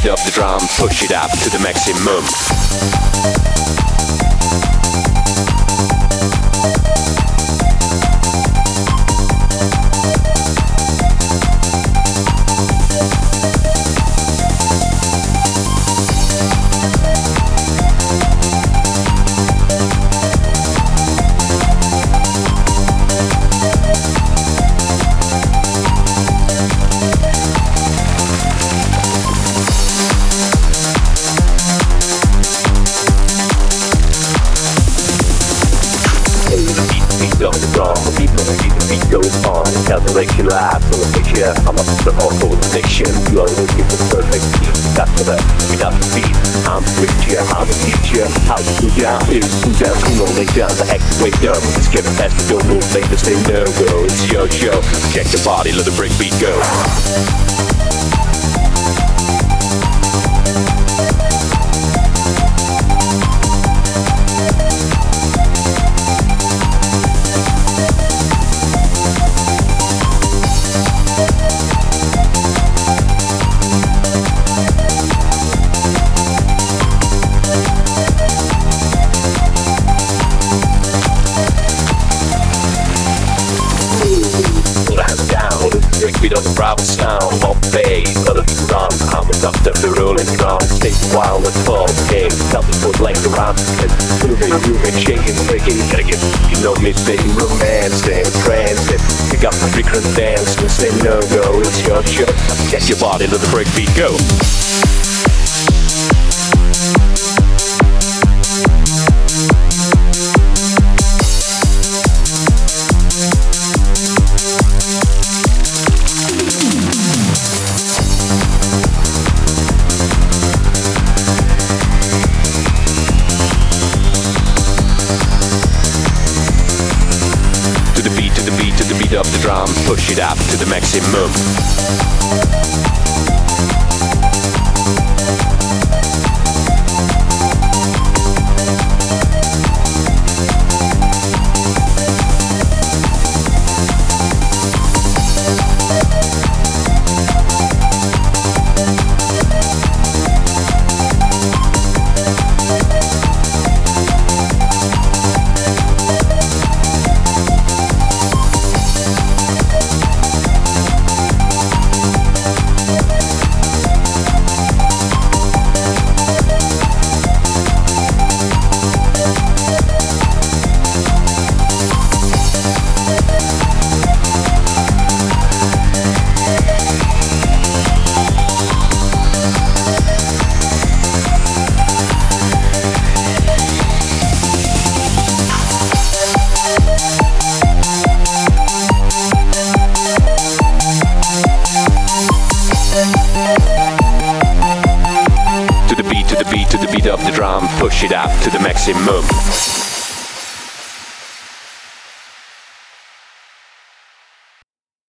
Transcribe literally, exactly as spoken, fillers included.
of the drum, push it up to the maximum. On the drum, the beat on the beat, the beat goes on. Calculation live from the picture. I'm up to the awful addiction. You are looking for the perfect beat. That's for that, without the beat. I'm the preacher, I'm the teacher. How to do down is do down, come on, lay down, the activate down. Let's get it fast, don't move, make the same no go. It's your show. Check the body, let the break beat go. Beat on the Bravo sound of bass, let it run. I'm a doctor for rolling drum. Stay wild and fall, game. Tell the foot like the rhyme. Moving, moving, shaking, breaking. Gotta get, you know me, saying romance and transit. Pick up the frequent dance, and say no go. It's your show. Get your body, let the break beat go. Of the drum, push it up to the maximum. To the beat, to the beat, to the beat of the drum, push it up to the maximum.